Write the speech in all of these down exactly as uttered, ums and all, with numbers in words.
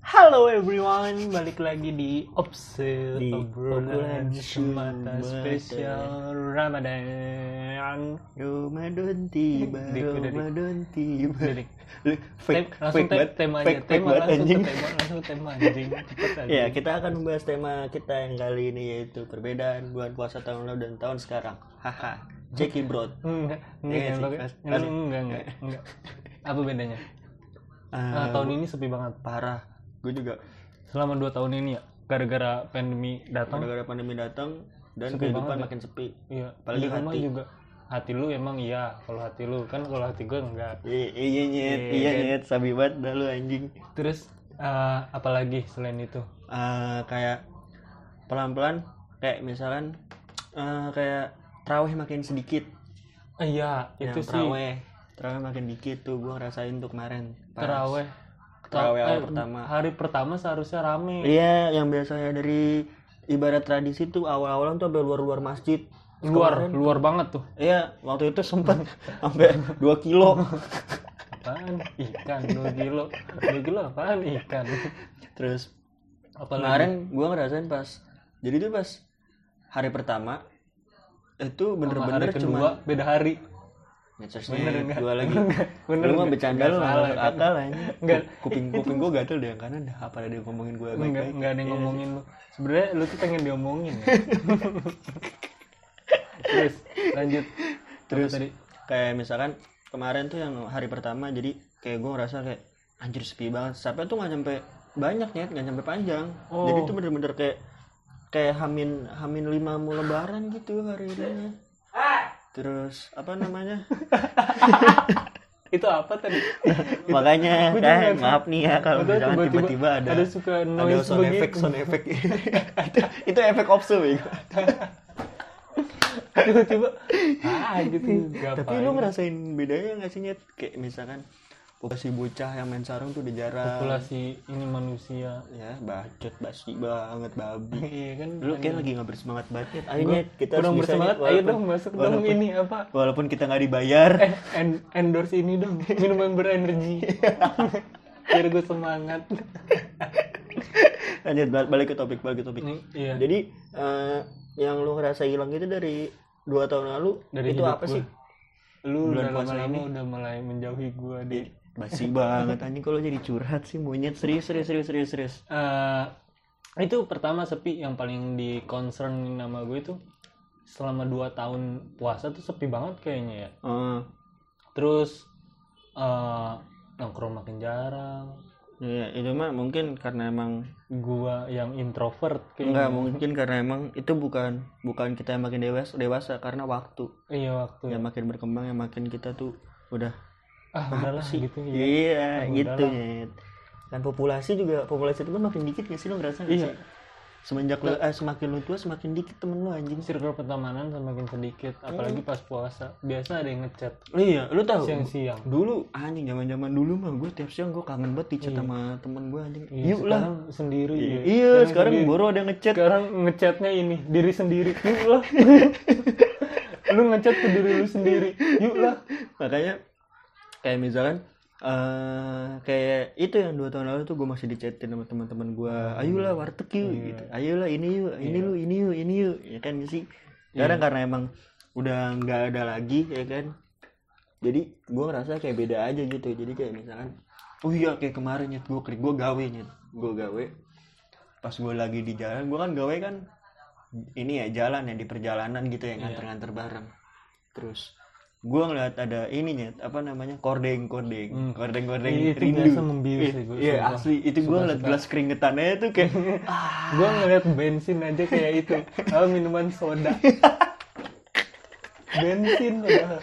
Halo everyone, balik lagi di Obse Di obrolan obrolan semata semata. spesial Ramadan. Ramadan tiba, Dik, udah, Dik. Ramadan tiba. Udah, Dik. Lu fake, Tem- langsung fake te- banget, tema aja, fake, fake tema banget langsung anjing. ke tema, langsung ke tema anjing. Cepet aja. Ya, kita akan membahas tema kita yang kali ini yaitu perbedaan bulan puasa tahun lalu dan tahun sekarang. Haha, Jackie Bro. Enggak, enggak, Iya jangan sih, pakai. pas- Enggak, pas- enggak, enggak, enggak. Apa bedanya? Nah, tahun ini sepi banget. Parah. Gue juga Selama dua tahun ini ya, gara-gara pandemi datang. gara-gara pandemi datang dan Sepi kehidupan banget ya. makin sepi. Iya, Apalagi di rumah hati. juga. Hati lu emang iya, kalau hati lu kan kalau hati gue enggak. I- Iya nyet, Iya, iya kan? nyet, sabi banget dah lu anjing. Terus eh, apalagi selain itu? Eh, kayak pelan-pelan kayak misalkan eh, kayak terawih makin sedikit. Eh, iya, itu Yang sih terawih terawih makin dikit tuh gue ngerasain tuh kemarin pas terawih. terawih awal Eh, pertama. Hari pertama seharusnya rame. Iya, yang biasanya dari ibarat tradisi tuh awal-awalan tuh sampai luar-luar masjid. Luar, Kemarin- luar banget tuh. Iya, waktu itu sempet sampai dua kilo. Apaan? Ikan dua kilo. dua kilo apaan ikan? Terus Apalagi? kemarin gue ngerasain pas jadi tuh pas hari pertama itu Sama bener-bener hari kedua cuma beda hari. ngecasnya Bener enggak? dua lagi. Bener Lu mah enggak? bercanda Enggak lu salah, nggak kan? akal aja. Enggak. Kuping kuping gue gatel deh yang kanan dah apa ada yang ngomongin gue Enggak, baik-baik. enggak ada yang Iya. ngomongin lu. Sebenarnya lu tuh pengen diomongin ya. Terus lanjut. Terus Apa tadi? kayak misalkan kemarin tuh yang hari pertama jadi kayak gue ngerasa kayak anjir sepi banget. Sampai tuh nggak nyampe banyak nih, nggak nyampe panjang. Oh. Jadi tuh bener-bener kayak kayak hamin hamin lima mau lebaran gitu hari ini. Terus apa namanya? Itu apa tadi? Makanya Gua juga kan nggak- maaf nih ya kalau Ada misalkan tiba-tiba tiba-tiba ada ada suka ada noise sound begitu. effect sound effect itu, itu efek opsu bego. Tiba-tiba ah gitu. Tapi Gapain. lu ngerasain bedanya nggak sih Nyet? Kayak misalkan populasi bocah yang main sarung tuh udah jarang. populasi ini manusia. Ya bacot basi banget babi. Iya kan. Lu kayak lagi nggak bersemangat banget Nyet. Ayo Gua Nyet, kita kurang harus bisa, bersemangat. Nyet, Ayo walaupun- dong masuk dong walaupun- ini apa? Walaupun kita nggak dibayar. Eh, en- endorse ini dong, minuman berenergi. Biar gue semangat. Lanjut bal- balik ke topik balik ke topik. Nih, iya. Jadi eh, yang lu ngerasa hilang itu dari dua tahun lalu Dari itu hidup apa gua. sih? Lu bulan udah puasa lama-lama ini? udah mulai menjauhi gue di. Basi banget anjing kalau jadi curhat sih monyet serius serius serius serius serius. Eh, itu pertama sepi yang paling di concern nama gue itu selama dua tahun puasa tuh sepi banget kayaknya ya. Oh, Terus eh nongkrong makin jarang. iya itu mah mungkin karena emang Gua yang introvert enggak kayaknya. mungkin karena emang itu bukan bukan kita yang makin dewasa dewasa karena waktu Iya waktu. yang makin berkembang yang makin kita tuh udah Ah udahlah gitu ya. iya Ah, gitu udahlah. Nyet. Kan populasi juga populasi itu kan makin dikit nggak sih lo ngerasa nggak Iya. sih? Semenjak lu, eh, semakin lu tua semakin dikit temen lu anjing. Circle pertemanan semakin sedikit, apalagi pas puasa. Biasa ada yang ngechat Iya, lu tahu siang-siang. dulu anjing zaman-zaman dulu mah gue tiap siang gue kangen banget di chat Iya. sama temen gue anjing. Iya, Yuk lah. sekarang sendiri. Iya, ya. iya sekarang sendiri. baru ada ngechat. Sekarang ngechatnya ini diri sendiri. Yuk lah. Lu ngechat ke diri lu sendiri. Yuk lah. Makanya kayak misalkan eh kayak itu yang dua tahun lalu tuh gue masih dichatin sama teman-teman gue, ayolah warteg yuk Iya. gitu, ayolah ini yuk, ini lu, ini yuk, ini yuk, ya kan sih. Sekarang karena emang udah nggak ada lagi ya kan, jadi gue ngerasa kayak beda aja gitu. Jadi kayak misalkan, oh iya kayak kemarin nyet gue klik gue gawe nyet, gue gawe, pas gue lagi di jalan, gue kan gawe kan ini ya jalan ya di perjalanan gitu ya nganter-nganter bareng, terus gue ngeliat ada ininya apa namanya kordeng kordeng Hmm. kordeng kordeng Iya, itu rindu biasa membius Iya, sih gua, iya sumpah. asli itu gue Suka, ngeliat suka. gelas keringetannya tuh kayak ah, Gua ngeliat bensin aja kayak itu. Oh, minuman soda. Bensin padahal.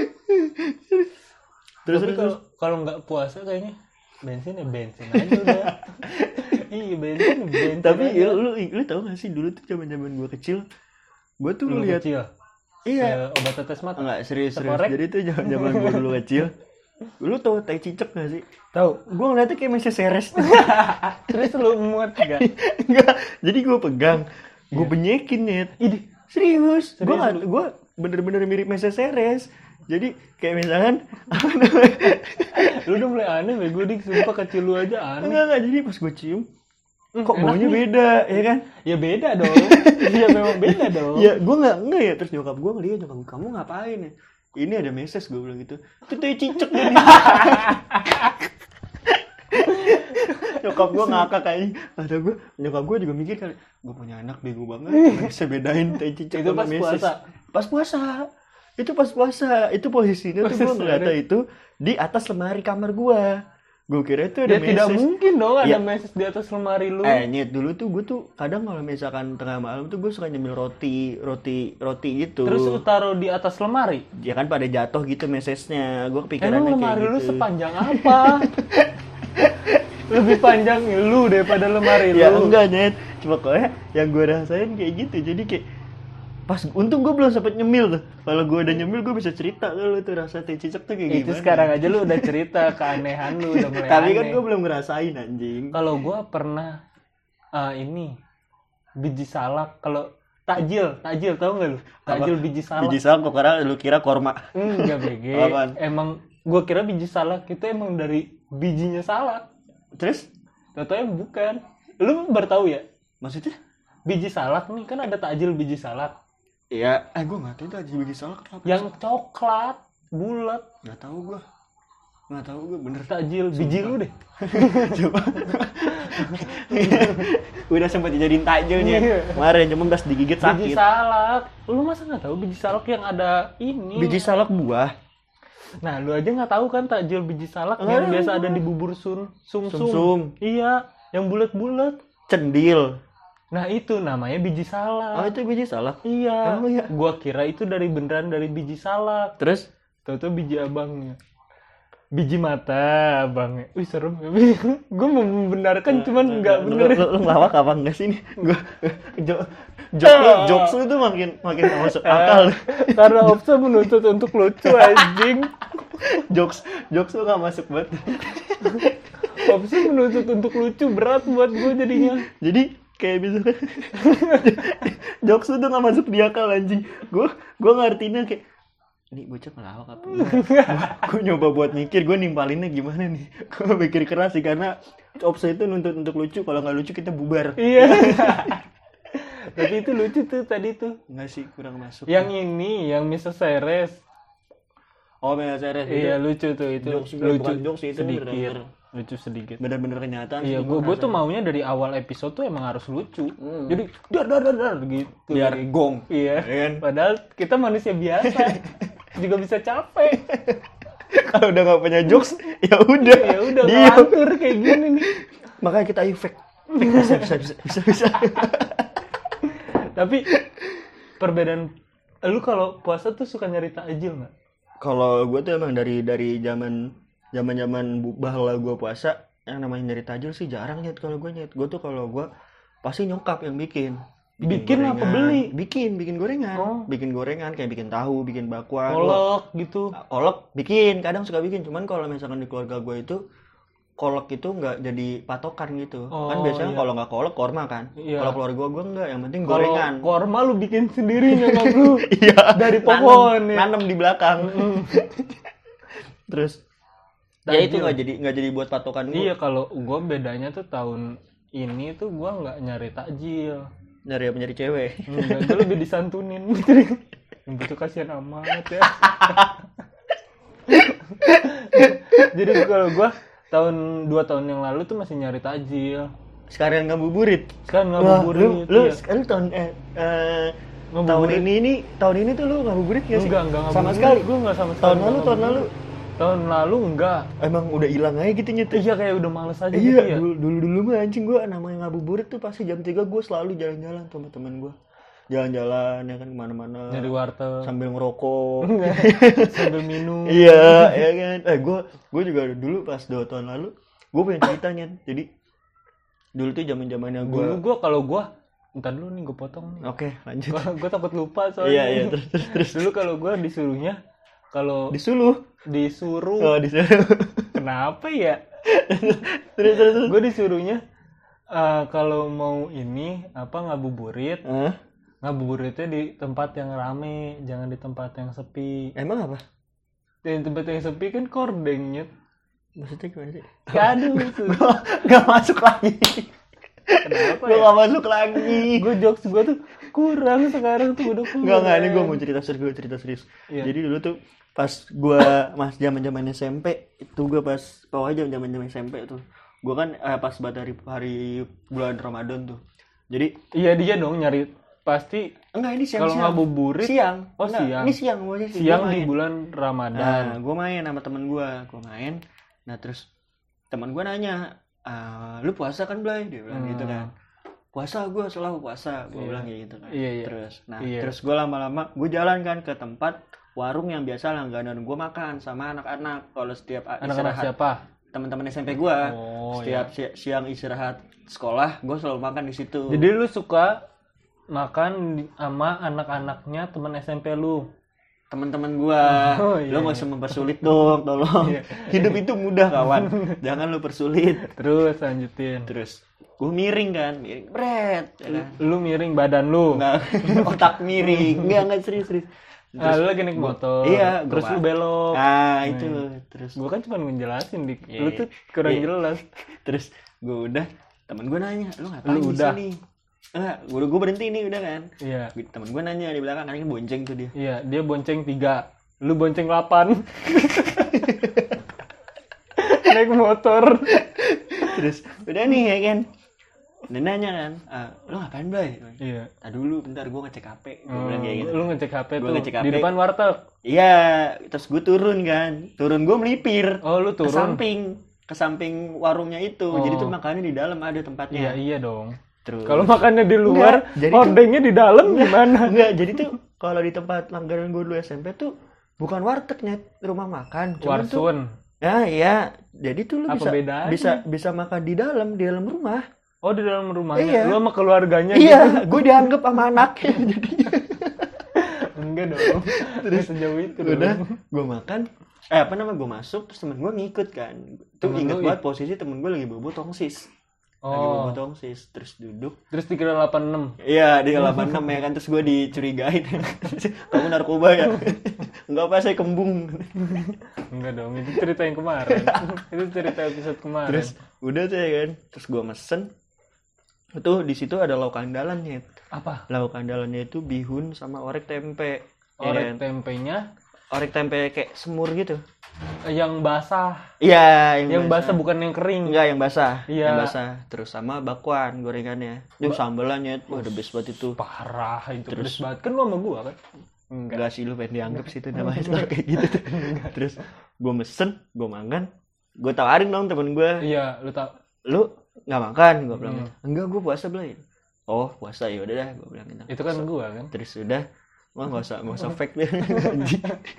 terus Tapi terus kalau kalau nggak puasa kayaknya bensin ya bensin aja udah. Iya bensin bensin. tapi aja. ya, lu lu tau gak sih dulu tuh zaman zaman gue kecil gue tuh Dulu ngeliat kecil. iya Kayak obat tetes mata. enggak serius serius Sekorek. jadi tuh zaman zaman gue dulu kecil lu tau tai cicak gak sih? Tahu. Gue ngeliatnya kayak masih seres Terus lu muat enggak? enggak jadi gue pegang gue benyekin net Idih. serius gue Serius nggak lu? gue bener-bener mirip Meses Seres Jadi kayak misalkan apa namanya? Lu udah mulai aneh bego dik, sumpah kecil lu aja aneh. Enggak enggak, jadi pas gue cium kok enak baunya nih. beda, ya kan? Ya beda dong. Iya memang beda dong. Ya gue nggak nggak ya, terus nyokap gue ngeliat, nyokap gue, kamu ngapain ya? Ini ada meses, gue bilang gitu. Itu tuh cicak jadi. Nyokap gue ngakak kayaknya. Kata gue, nyokap gue juga mikir kali, gue punya anak bego banget, nggak bisa bedain tai cicak Itu sama pas meses. puasa. Pas puasa. Itu pas puasa. Itu posisinya tuh gue Puasa ngeliatnya sehari. itu di atas lemari kamar gue. Gue kira itu ada Ya tidak meses. mungkin dong ada Ya. meses di atas lemari lu. Eh nyet, dulu tuh gue tuh kadang kalau misalkan tengah malam tuh gue suka nyemil roti, roti, roti gitu. Terus lu taruh di atas lemari. Ya kan pada jatuh gitu mesesnya. Gue kepikirannya Emang kayak lemari lu gitu. sepanjang apa? Lebih panjang lu daripada lemari Ya lu. enggak nyet. Cuma kok ya yang gue rasain kayak gitu. Jadi kayak pas untung gue belum sempet nyemil tuh. Kalau gue udah nyemil gue bisa cerita kalau tuh rasa teh cicak tuh kayak Itu gimana. sekarang aja lu udah cerita keanehan lu udah mulai Tapi kan aneh. gue belum ngerasain anjing. Kalau gua pernah ah, ini biji salak, kalau takjil, takjil tahu nggak lu? Takjil biji salak. Biji salak kok karena lu kira korma. Enggak bege. Apaan? Emang gua kira biji salak itu emang dari bijinya salak. Terus Tahu bukan. Lu baru tahu ya? maksudnya? Biji salak nih kan ada takjil biji salak. Iya, eh gue nggak tahu itu aja biji salak apa. Yang coklat, bulat, Nggak tahu gue. Nggak tahu gue bener. takjil biji lu deh. Coba. Udah sempat dijadiin takjilnya. Iya. Kemarin cuma pas digigit Biji sakit. salak. Lu masa nggak tahu biji salak yang ada ini? Biji salak buah. Nah, lu aja nggak tahu kan takjil biji salak Nggak yang tahu biasa gua. ada di bubur sun sumsum. Sumsum. Iya, yang bulat-bulat. Cendil. Nah, itu namanya biji salak. Oh itu biji salak. Iya. Emang iya? Gua kira itu dari beneran dari biji salak. Terus? Tahu-tahu biji abangnya. Biji mata abangnya. Wih, serem. Gue mau membenarkan cuman nggak bener. Lu, lu, lu ngelawak apa enggak sih ini? Gua jok jok lu, jokes lu tuh makin makin nggak masuk akal. Karena Opsa menuntut untuk lucu anjing. jokes jokes lu nggak masuk banget. Opsa menuntut untuk lucu berat buat gue jadinya. Jadi kayak misalkan jokes lu tuh nggak masuk di akal anjing. Gue gue ngertinya kayak ini bocah ngelawak apa enggak? Gue nyoba buat mikir gue nimpalinnya gimana nih. Gue mikir keras sih karena Opsa itu nuntut untuk lucu, kalau nggak lucu kita bubar. Iya. Tapi itu lucu tuh tadi tuh. Enggak sih, kurang masuk. Yang ini, yang missus Ceres. Oh, Mel Ceres itu. Iya lucu tuh itu. Jokes, lucu bukan jokes sih, itu sedikit. bener-bener. Lucu sedikit. Bener-bener kenyataan. Iya, sih, gue gue tuh rasanya. maunya dari awal episode tuh emang harus lucu. Hmm. Jadi dar dar dar dar gitu. Biar gong. Iya. Iya kan? Padahal kita manusia biasa juga bisa capek. Kalau udah nggak punya jokes, ya udah. Ya udah Diam. ngelantur kayak gini nih. Makanya kita ayo fake. Fake bisa bisa bisa bisa. bisa. Tapi perbedaan lu kalau puasa tuh suka nyari takjil nggak? Kalau gue tuh emang dari dari zaman zaman zaman bahla gue puasa, yang namanya nyari tajil sih jarang nyet kalau gue nyet. Gue tuh kalau gue pasti nyokap yang bikin. Bikin apa gorengan. beli? Bikin, bikin gorengan. Oh. Bikin gorengan kayak bikin tahu, bikin bakwan. Kolak gitu. Kolak bikin, kadang suka bikin. Cuman kalau misalkan di keluarga gue itu kolak itu nggak jadi patokan gitu. Oh, kan biasanya iya. kalau nggak kolak korma kan. Iya. Kalau keluarga gue nggak, yang penting Kalau gorengan. korma lu bikin sendiri nyokap lu. Iya. Dari pohon Nanem, ya. nanem di belakang. Mm. Terus ya Tajil. itu nggak jadi nggak jadi buat patokan gue. Iya, kalau gua bedanya tuh tahun ini tuh gua nggak nyari takjil. Nyari apa nyari cewek. Enggak, gua lebih disantunin. Yang itu kasihan amat ya. Jadi kalau gua tahun dua tahun yang lalu tuh masih nyari takjil. Sekalian ngabuburit. Kan Wah, ngabuburit. lu, lu iya. sekarang tahun eh, eh, tahun Ngabuburit. ini ini tahun ini tuh lu ngabuburit nggak sih? Enggak, enggak sama ngabuburit. sekali. Gua enggak sama sekali. Tahun lalu enggak tahun lalu ngabuburit. Tahun lalu enggak. emang udah hilang aja gitu nyet. Iya, kayak udah males aja Iya, gitu ya. dulu, dulu dulu mah anjing gue namanya ngabuburit tuh pasti jam tiga gue selalu jalan-jalan sama teman gue. Jalan-jalan ya kan kemana-mana. Nyari warteg. Sambil ngerokok. Sambil minum. Iya, ya kan. Eh gue gue juga dulu pas dua tahun lalu gue punya ceritanya. Jadi dulu tuh zaman-zamannya gue. Dulu gua kalau gua entar dulu nih gua potong nih. Oke, lanjut. Gua, gua takut lupa soalnya. Iya, iya, terus terus terus. Dulu kalau gua disuruhnya kalau Disuluh. disuruh Oh, disuruh. kenapa ya? terus terus. terus. Gua disuruhnya eh, kalau mau ini apa ngabuburit, Hah? ngabuburitnya di tempat yang rame, jangan di tempat yang sepi. Emang apa? Dan tempat yang sepi kan kordengnya. Maksudnya gimana sih? Gak ada itu. Gue gak masuk lagi. Kenapa Gue ya? gak masuk lagi. Gue jokes gue tuh kurang sekarang tuh udah kurang. Enggak, enggak, ini gue mau cerita serius, gue cerita serius. Iya. Jadi dulu tuh pas gue mas zaman-zaman S M P, itu gue pas pokoknya zaman-zaman S M P tuh. Gue kan eh, pas buat hari hari bulan Ramadan tuh. Jadi Iya dia dong nyari pasti enggak ini siang. kalau ngabuburit siang. Oh, Enggak, siang. Ini siang gue sih. siang gua di main. bulan Nah, Ramadan. gue main sama temen gue, gue main. Nah terus teman gue nanya, ah, lu puasa kan Blay? Dia bilang Hmm. gitu kan. Puasa gue selalu puasa, gue Iya. bilang kayak gitu kan. Iya, iya. Terus, nah Iya. terus gue lama-lama gue jalan kan ke tempat warung yang biasa langganan gue makan sama anak-anak kalau setiap a- Anak-anak istirahat siapa? teman-teman S M P gue. Oh, setiap si- siang istirahat sekolah, gue selalu makan di situ. Jadi lu suka makan di- sama anak-anaknya teman S M P lu. Teman-teman gue, Oh, iya, lo nggak iya. usah mempersulit dong, tolong. Iya. Hidup itu mudah kawan, jangan lo persulit. Terus lanjutin. Terus gue miring kan, miring, bret, ya kan? Lu miring badan lu. Nggak, otak miring, nggak nggak serius serius. Ah, lu lagi naik motor. Iya, gua Terus lu pa- belok. Ah itu, terus Gua kan cuma ngejelasin dik. Iya, Lu iya. tuh kurang Iya. jelas. terus gue udah, temen gue nanya, lu ngapain Lu di udah. sini? Enggak, gue gue berhenti nih udah kan. Iya. Temen gue nanya di belakang, kan bonceng tuh dia. Iya, dia bonceng tiga. Lu bonceng delapan. Naik motor. Terus udah nih ya kan. Dan nanya kan, ah, lu ngapain Blay? Iya. Ah dulu bentar gue ngecek H P, gue Oh, bilang kayak gitu. lu ngecek H P Gua tuh ngecek H P. di depan warteg. Iya, terus gue turun kan, turun gue melipir. Oh, lu Ke turun. samping, ke samping warungnya itu. Oh. Jadi tuh makannya di dalam ada Iya, tempatnya. iya dong. Terus Kalau makannya di luar, Enggak, jadi tuh- hordengnya di dalam gimana? enggak, jadi tuh kalau di tempat langganan gue dulu S M P tuh bukan warteg Net, rumah makan. Cuman tuh Warsun. ya iya, jadi tuh lu Apa bisa bedanya? bisa bisa makan di dalam, di dalam rumah. Oh, di dalam rumahnya. Iya. Lu sama keluarganya gitu. Iya, gue dianggap sama anaknya jadinya. Enggak dong. Terus sejauh itu Udah, dong. gue makan, eh apa namanya gue masuk, terus temen gue ngikut kan. Tuh Temen inget lu banget posisi temen gue lagi bobo tongsis. Lagi Oh. bobo tongsis, terus duduk. Terus dikira delapan puluh enam. Iya, di delapan enam ya kan, terus gue dicurigain. Kamu narkoba ya? Enggak apa, saya kembung. Enggak dong, itu cerita yang kemarin. Itu cerita episode kemarin. Terus udah tuh ya kan, terus gue mesen. Itu di situ ada lauk andalannya. apa? Lauk andalannya itu bihun sama orek tempe. Ya Orek kan? tempenya Orek tempe kayak semur gitu. yang basah. Iya, Yang basah bukan yang kering. Enggak, yang basah. Iya. Yang basah. Terus sama bakwan gorengannya. Itu sambelannya, wah the best banget itu. Parah itu. Terus- Terus banget kan lu sama gua kan? Enggak. Enggak sih, lu pengen dianggap sih itu namanya tuh kayak gitu tuh. Terus gue mesen, gue makan. Gue tawarin dong temen gue, Iya, lu tau. lu nggak makan? Gue bilang, Hmm. enggak, gue puasa Blay. Oh puasa, ya udah dah, gue bilang gitu. Itu kan gua kan. Terus udah, wah nggak usah nggak usah fake deh. Anjing.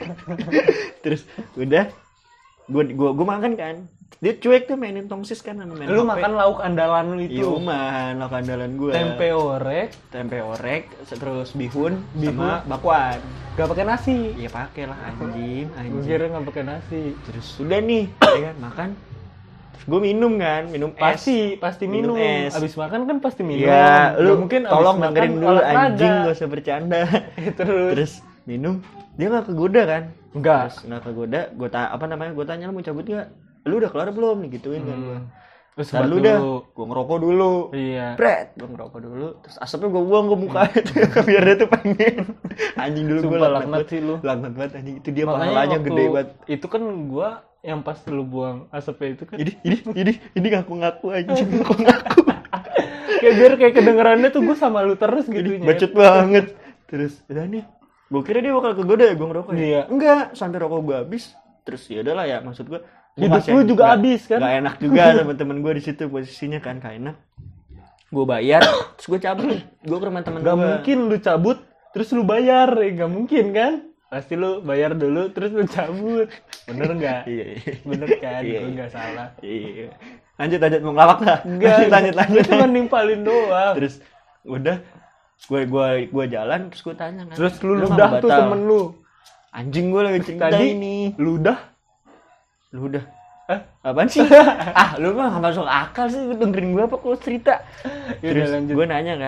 Terus udah, gue gue gue makan kan. Dia cuek tuh mainin tongsis kan sama main Lu H P. makan lauk andalan lu Iya itu. man, lauk andalan gue. Tempe orek, tempe orek, terus bihun, Bihun. sama bakwan. gak pakai nasi. Iya pakai lah anjing, Gua anjing. kira gak pakai nasi. Terus udah nih, ya kan makan. Terus gue minum kan, minum es. Pasti, pasti minum. Minum es. Abis makan kan pasti minum. Iya, Nggak lu mungkin abis tolong makan dengerin dulu olahraga. anjing, gak usah bercanda. Terus, Terus minum, dia nggak kegoda kan? enggak. Terus nggak kegoda, gue ta apa namanya? Gue tanya, lu mau cabut nggak? Lu udah kelar belum? Nih gituin kan gue. Hmm. Terus Ntar buat lu dah, gue ngerokok dulu. Iya. Pret, gue ngerokok dulu. Terus asapnya gue buang ke muka biar dia tuh pengen. Anjing dulu gue Sumpah laknat sih lu. Laknat banget anjing. Itu dia Makanya pahalanya waktu gede banget. itu kan gua yang pas lu buang asapnya itu kan Ini ini ini ini ngaku-ngaku anjing, ngaku-ngaku. kayak biar kayak kedengerannya tuh gua sama lu terus gitu Nyet. Bacot banget. Terus udah nih. Gue kira dia bakal kegoda ya gue ngerokok ya. Iya. Enggak, sampai rokok gue habis. Terus ya udahlah ya, maksud gue Hidup lu juga habis kan? Gak enak juga sama temen gue di situ posisinya kan, gak enak. Gue bayar, terus gue cabut. Gue ke rumah temen gue. Gak mungkin lu cabut terus lu bayar, ya gak mungkin kan? Pasti lu bayar dulu terus lu cabut. Bener nggak? Iya, iya. Bener kan? Iya, Gua iya. nggak salah. Iya. Lanjut lanjut mau ngelawak nggak? Enggak. Lanjut lanjut lanjut. Lu cuma nimpalin doang. Terus udah gue gue gue jalan terus gue tanya kan. Terus lu nggak ludah mau tuh batal? temen lu. Anjing gue lagi cerita Tadi ini. ludah. Ludah. Eh? Apaan sih? Ah, lu mah gak masuk akal sih, lu dengerin gue apa kalau cerita. Ya udah, Terus lanjut. gue nanya kan,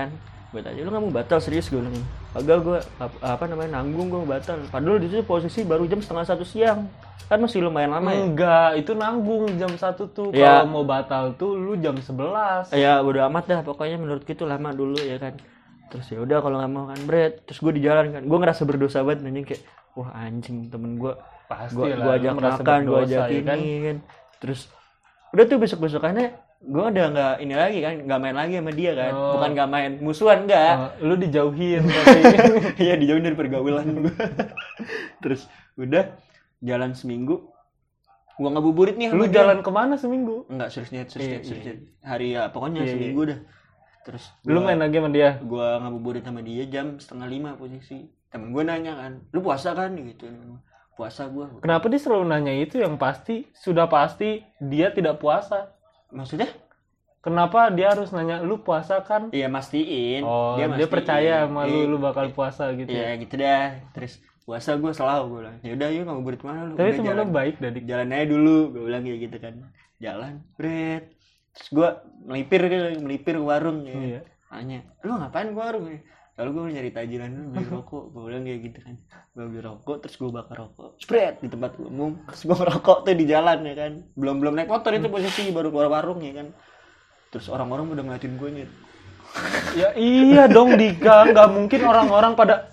gue tanya lu nggak mau batal serius, gue bilang agak gue apa, apa namanya nanggung gue mau batal, padahal di situ posisi baru jam setengah satu siang kan masih lumayan lama ya. Enggak, itu nanggung jam satu tuh. Ya. Kalau mau batal tuh lu jam sebelas. Ya bodo amat dah pokoknya menurut gitu lama dulu ya kan. Terus ya udah kalau nggak mau kan Bret, terus gue di jalan kan gue ngerasa berdosa banget nanya kayak wah anjing temen gue Pasti gue lah, gue lu ajak merasa makan gue berdosa, ajak ya ini kan? kan. Terus udah tuh besok besokannya gue udah nggak ini lagi kan, nggak main lagi sama dia kan. Oh. Bukan nggak main musuhan enggak. Oh, lu dijauhin tapi. Iya dijauhin dari pergaulan gue. Terus udah jalan seminggu gue ngabuburit nih sama Lu dia. jalan kemana seminggu? Enggak serius niat serius Iya, niat serius iya. niat. Hari ya pokoknya Iya, seminggu dah. Terus Lu main lagi sama dia? gue ngabuburit sama dia jam setengah lima posisi. Temen gue nanya kan, lu puasa kan gitu. Puasa gue. Kenapa dia selalu nanya itu yang pasti sudah pasti dia tidak puasa? Maksudnya? Kenapa dia harus nanya lu puasa kan? Iya mastiin. Oh, dia, mastiin. percaya sama lu Iya, lu bakal puasa gitu. Iya ya? gitu dah. Terus puasa gue selalu gue bilang. Ya udah yuk ngabuburit mana lu? Tapi Udah, temen lu jalan. baik dari Jalan aja dulu, gue bilang kayak gitu kan. Jalan, Bret. Terus gue melipir gitu, melipir ke warung ya. Iya. Tanya, lu ngapain ke warung ya? Lalu gue nyari tajiran dulu, beli rokok. Gue bilang kayak gitu kan. Gue beli rokok, terus gue bakar rokok. Spread di tempat umum. Terus gue ngerokok tuh di jalan ya kan. Belum belum naik motor itu posisi baru keluar warung ya kan. Terus orang-orang udah ngeliatin gue nyet. Ya iya dong Dika, nggak mungkin orang-orang pada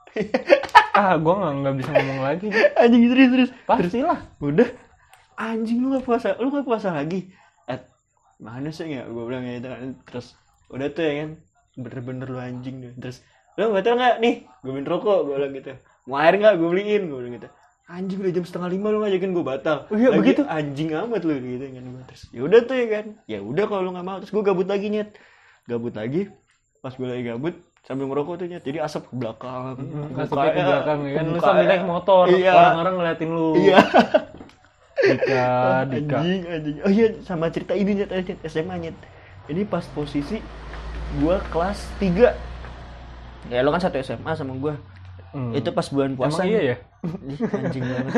ah gue nggak nggak bisa ngomong lagi. Anjing serius serius. Pastilah. Udah anjing lu gak puasa, lu gak puasa lagi. Eh, mana sih ya? Gue bilang gitu kan. Terus udah tuh ya kan. Bener-bener lu anjing deh. Terus lu batal nggak nih? Gue minta rokok, gue bilang gitu. Mau air nggak? Gue beliin, gue bilang gitu. Anjing udah jam setengah lima lu ngajakin gue batal. Oh iya, Lagi, begitu? Anjing amat lu gitu kan. Terus ya udah tuh ya kan. Ya udah kalau lu nggak mau. Terus gue gabut lagi nyet. Gabut lagi. Pas gue lagi gabut sambil ngerokok tuh nyet. Jadi asap ke belakang. Asapnya ke belakang ya kan. Lu muka- sambil naik motor, Iya. orang-orang ngeliatin lu. Iya. Dika, Dika. Anjing, anjing. Oh iya, sama cerita ini nyet, nyet S M A nyet. Ini pas posisi gua kelas tiga. Ya lo kan satu S M A sama gua. Hmm. Itu pas bulan puasa. Emang iya ya? Ih, anjing banget.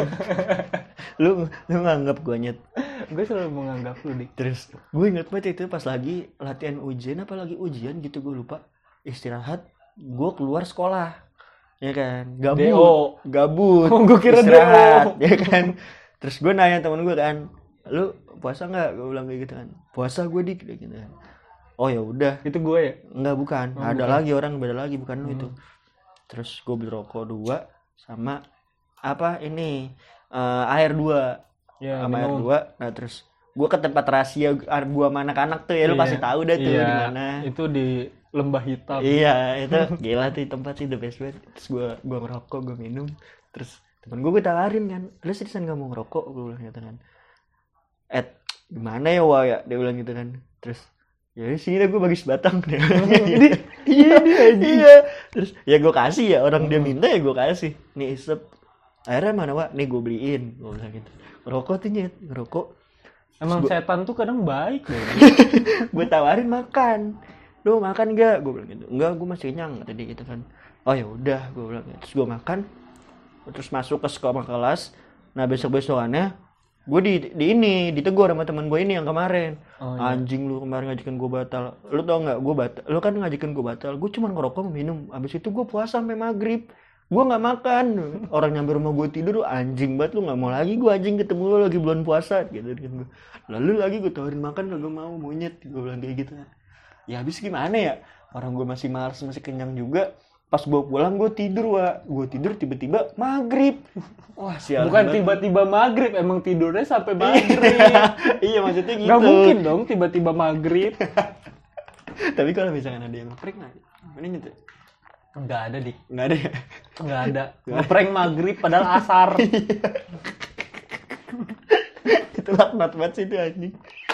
lu lu nganggap gua nyet. Gue selalu menganggap lu Dik. Terus gue inget banget itu pas lagi latihan ujian apa lagi ujian gitu gue lupa. Istirahat, gua keluar sekolah. Ya kan? Gabut. D O. Gabut. Oh, gua kira istirahat, D O. ya kan? Terus gue nanya temen gue kan, lu puasa nggak? Gue bilang kayak gitu kan. Puasa gue dik, kayak gitu kan. Oh ya udah. Itu gue ya? Enggak bukan. Oh, Ada bukan. lagi orang beda lagi bukan lu Hmm. itu. Terus gue beli rokok dua sama apa ini eh, air dua Ya, sama air minum. dua. Nah terus gue ke tempat rahasia gue sama anak-anak tuh ya lu Iya. pasti tahu dah tuh Iya, di mana. Itu di lembah hitam. Iya itu gila tuh tempat sih the best banget. Terus gue gue ngerokok gue minum. Terus temen gue gue tawarin kan, lu seriusan gak mau ngerokok? Gue bilang gitu kan. Eh gimana ya Wah ya? Dia bilang gitu kan. Terus ya sini dah gue bagi sebatang. Jadi iya iya. Terus ya gue kasih ya orang dia minta ya gue kasih. Nih isep. Akhirnya mana Wak? Nih gue beliin. Gue bilang gitu. Ngerokok tuh nyet, ngerokok. emang Terus gua- setan tuh kadang baik deh. gue tawarin makan. Lu makan gak? Gue bilang gitu. Enggak, gue masih kenyang tadi gitu kan. Oh ya udah, gue bilang gitu. Terus gue makan. Terus masuk ke sekolah kelas. Nah besok besokannya gue di, di ini ditegur sama teman gue ini yang kemarin. Oh, iya. Anjing lu kemarin ngajakin gue batal. Lu tau nggak? Gue batal. Lu kan ngajakin gue batal. Gue cuma ngerokok minum. Abis itu gue puasa sampai maghrib. Gue nggak makan. Orang nyampe rumah gue tidur. Anjing banget lu nggak mau lagi. Gue anjing ketemu lu lagi bulan puasa gitu kan gue. Lalu lagi gue tawarin makan kagak mau monyet. Gue bilang kayak gitu. Ya habis gimana ya? Orang gue masih malas masih kenyang juga. Pas gue pulang gue tidur Wak. Gue tidur tiba-tiba maghrib. Wah sialan Bukan banget. tiba-tiba maghrib, emang tidurnya sampai maghrib. Iya maksudnya gitu. Gak mungkin dong tiba-tiba maghrib. Tapi kalau misalkan ada yang ngeprank nggak? Ini gitu. Nggak ada Dik, Nggak ada ya? nggak ada. Ngeprank maghrib padahal asar. Itu laknat banget sih itu anjing.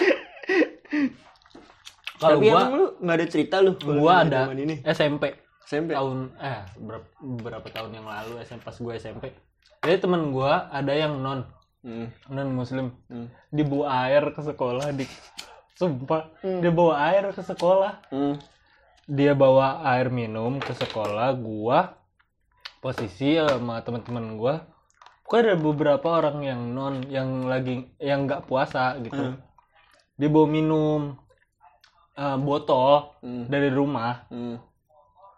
Kalau Tapi gua, emang lu nggak ada cerita lu? kalau gua di ada zaman ini. S M P. S M P. Tahun eh berapa, berapa tahun yang lalu S M P pas gue S M P. Jadi temen gue ada yang non Hmm. non muslim, Hmm. dibawa air ke sekolah Dik. Sumpah, dia bawa air ke sekolah. Hmm. Dia bawa air minum ke sekolah, gua posisi sama teman-teman gua. Pokoknya ada beberapa orang yang non yang lagi yang nggak puasa gitu. Hmm. Dia bawa minum eh, botol Hmm. dari rumah. Hmm.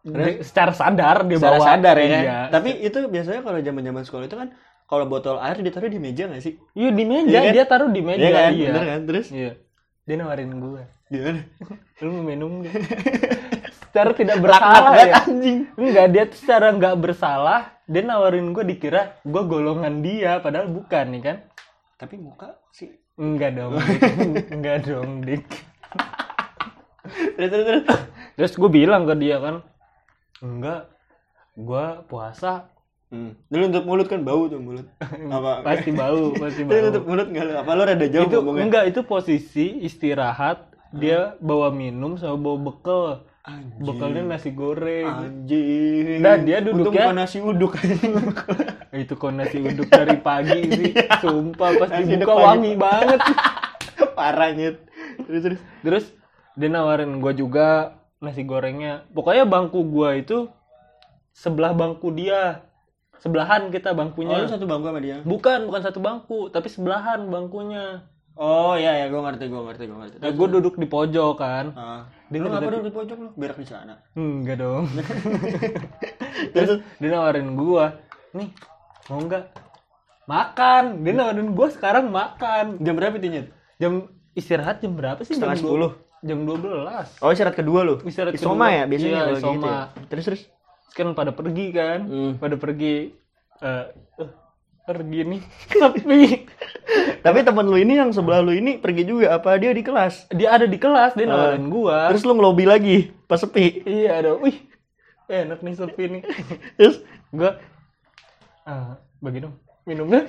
Di- secara sadar dia Secara bawa. sadar ya kan. Iya. Tapi itu biasanya kalau zaman-zaman sekolah itu kan kalau botol air ditaruh di meja nggak sih? Iya di meja, Iya kan? dia taruh di meja. Iya kan? Iya. Bener kan? Terus Iya. Dia nawarin gue. gimana? Lu mau minum nggak? Secara tidak bersalah banget, ya. anjing. Enggak, dia tuh secara nggak bersalah. Dia nawarin gue dikira gue golongan dia, padahal bukan nih kan? Tapi muka sih. Enggak dong, Dik. Enggak dong, Dik. Terus terus terus. Terus gue bilang ke dia kan, enggak, gue puasa. Hmm. Lu nutup mulut kan bau tuh mulut. Apa? Pasti bau, pasti Lu bau. nutup mulut enggak lu? Apa lu rada jauh Itu ngomongnya? enggak, itu posisi istirahat. Dia bawa minum sama bawa bekal. Anjing. Bekalnya nasi goreng. Anjing. Dan dia Untung duduknya- bukan nasi uduk. Itu kok nasi uduk dari pagi sih. Sumpah pas Nasi dibuka uduk pagi. wangi banget. Parah nyet. Terus terus. Terus dia nawarin gue juga nasi gorengnya. Pokoknya bangku gue itu sebelah bangku dia. Sebelahan kita Oh, bangkunya. lu satu bangku sama dia? Bukan, bukan satu bangku, tapi sebelahan bangkunya. Oh iya ya, gua ngerti, gua ngerti, gua ngerti. Nah, gue duduk di pojok kan. Ah. Dia Lu ngapa ngerti- duduk di pojok lu? Berak di sana. Enggak dong. Terus Dia nawarin gue, nih mau nggak makan? Dia nawarin gue sekarang makan. jam berapa itu nyet? Jam istirahat jam berapa sih? Setengah Jam dua- sepuluh. Jam dua belas. Oh, isyarat kedua lu. Isyarat Isoma kedua. ya biasanya Iya, kalau isoma. gitu. Ya? Terus terus. Kan pada pergi kan, Hmm. pada pergi. eh eh, pergi nih, sepi. Tapi teman lu ini yang sebelah lu ini pergi juga apa dia di kelas? Dia ada di kelas, dia nawarin gua. Terus lu ngelobi lagi pas sepi. Iya ada, wih, enak nih sepi nih. Terus Gua, ah, bagi dong minumnya.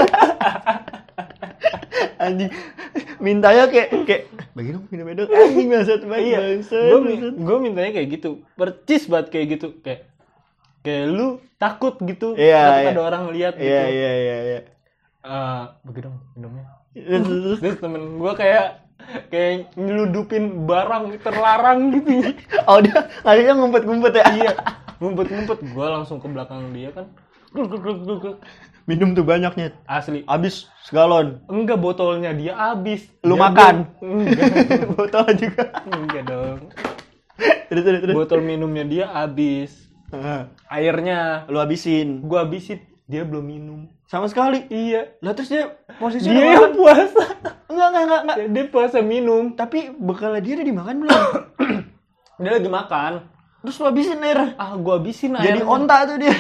anjing mintanya kayak kayak bagi dong minum dong anjing bangsat banget Iya, bangsat, gua, bangsat. gua mintanya kayak gitu, percis banget kayak gitu, kayak kayak lu takut gitu, Iya, takut iya. ada orang lihat gitu. Iya iya iya iya. Ah, bagi dong minumnya. Terus, terus, Terus temen gua kayak kayak nyeludupin barang terlarang gitu. oh dia akhirnya ngumpet-ngumpet ya. Iya, ngumpet-ngumpet. Gua langsung ke belakang dia kan. Gluk, gluk, gluk, gluk, gluk. Minum tuh banyaknya. Asli. Habis segalon. Enggak, botolnya dia habis. Lu Dia makan? belum- Enggak. Botol juga. Enggak dong. Terus terus terus. Botol minumnya dia habis. Ah, Airnya lu habisin. gua habisin, dia belum minum. Sama sekali. Iya. Lah terus dia posisinya Dia udah yang makan. puasa. Enggak enggak enggak enggak. Dia puasa minum. Tapi bekalnya dia udah dimakan belum? Dia lagi makan. Terus lu habisin air. Ah, gua habisin Jadi airnya. onta tuh dia.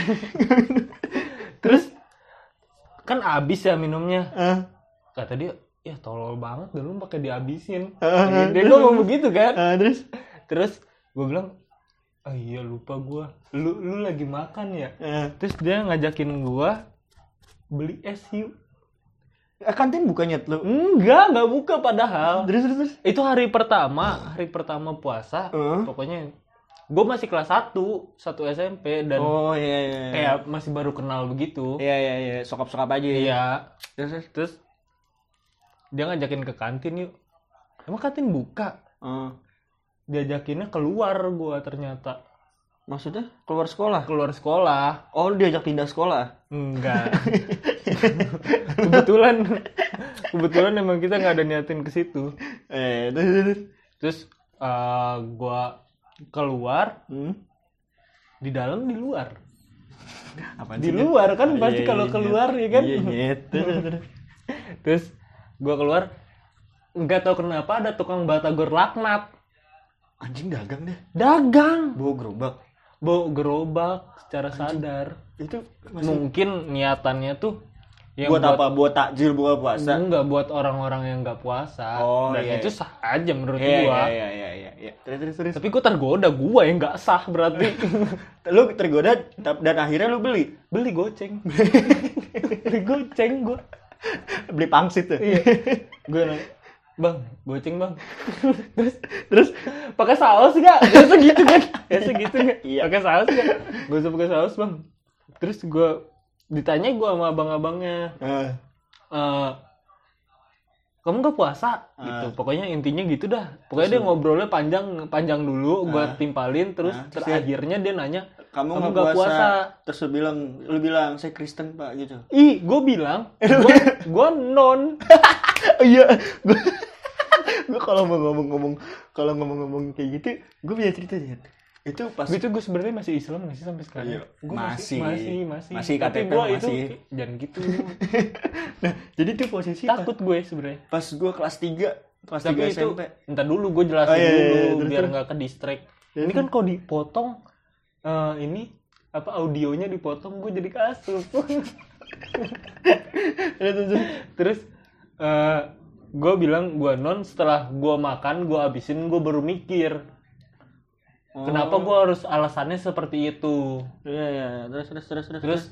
Terus kan habis ya minumnya. Ah, Kata dia, ya tolol banget dulu pakai dihabisin. Ah, Dia ngomong begitu kan. ah, terus Terus gue bilang, ah iya lupa gue, lu lu lagi makan ya. ah. Terus dia ngajakin gue beli es yuk. Eh, kantin bukannya lu. Enggak, nggak buka padahal. Terus terus terus. Itu hari pertama, hari pertama puasa. Heeh. Pokoknya gue masih kelas satu, satu S M P dan Oh iya iya. iya. kayak masih baru kenal begitu. Iya iya iya, sokap-sokap aja ya. Iya. Terus terus. Terus dia ngajakin ke kantin yuk. Emang kantin buka? Ah. Diajakinnya keluar gue ternyata. Maksudnya keluar sekolah? Keluar sekolah. Oh, lu diajak pindah sekolah? Enggak. kebetulan kebetulan emang kita nggak ada niatin ke situ. Eh, terus terus. Terus uh, gua keluar, Hmm? di dalam di luar. Apaan Di sih, Nyet? luar kan Oh, pasti iya, kalau iya, keluar Nyet. ya kan. Iya, Nyet. Terus, terus, terus. Terus gua keluar, nggak tahu kenapa ada tukang batagor laknat. Anjing dagang deh. Dagang, Bawa gerobak. bawa gerobak secara sadar. Itu masih Mungkin niatannya tuh yang buat, apa? Buat takjil buka puasa. Enggak, buat orang-orang yang nggak puasa. Oh, Dan iya, itu iya. sah aja menurut Iya gua. iya iya iya iya. Terus terus terus. Tapi gua tergoda, gua yang nggak sah berarti. Lu tergoda tap- dan akhirnya lu beli. Beli goceng. Beli goceng gua. Beli pangsit tuh. Iya. Gua nanya, "Bang, goceng, Bang." Terus Terus pakai saus enggak? Biasa gitu kan. Biasa gitu enggak? Iya. Pakai saus enggak? Gua usah pakai saus, Bang. Terus gua ditanya gua sama abang-abangnya, eh, eh kamu nggak puasa gitu, Ah. pokoknya intinya gitu dah. Pokoknya dia ngobrolnya panjang panjang dulu, gua Ah. timpalin, terus Ah, ter- terus dia- akhirnya dia nanya, kamu Kamu nggak nggak puasa. puasa. Terus lu bilang, lu bilang saya Kristen Pak gitu. ih, gue bilang, gua, gua non. Oh iya, gue gue kalau mau ngomong-ngomong kalau ngomong-ngomong kayak gitu, gue punya cerita ya. Itu pas Itu gue sebenarnya masih Islam nggak sih sampai sekarang? Iya, Gue masih. masih, masih. Masih Tapi K T P gue itu masih. jangan gitu. Nah, jadi tuh posisi pas, Takut gue sebenarnya. pas gue kelas tiga, kelas Tapi tiga itu, S M P. entar dulu gue jelasin Oh, iya, iya, dulu iya, terus, biar terus. nggak ke distract. Terus, Ini kan kalau dipotong eh, ini apa audionya dipotong gue jadi kasup. Terus eh, gue bilang gue non setelah gue makan gue abisin gue baru mikir Oh. kenapa gue harus alasannya seperti itu. Iya, iya, terus terus terus terus. Terus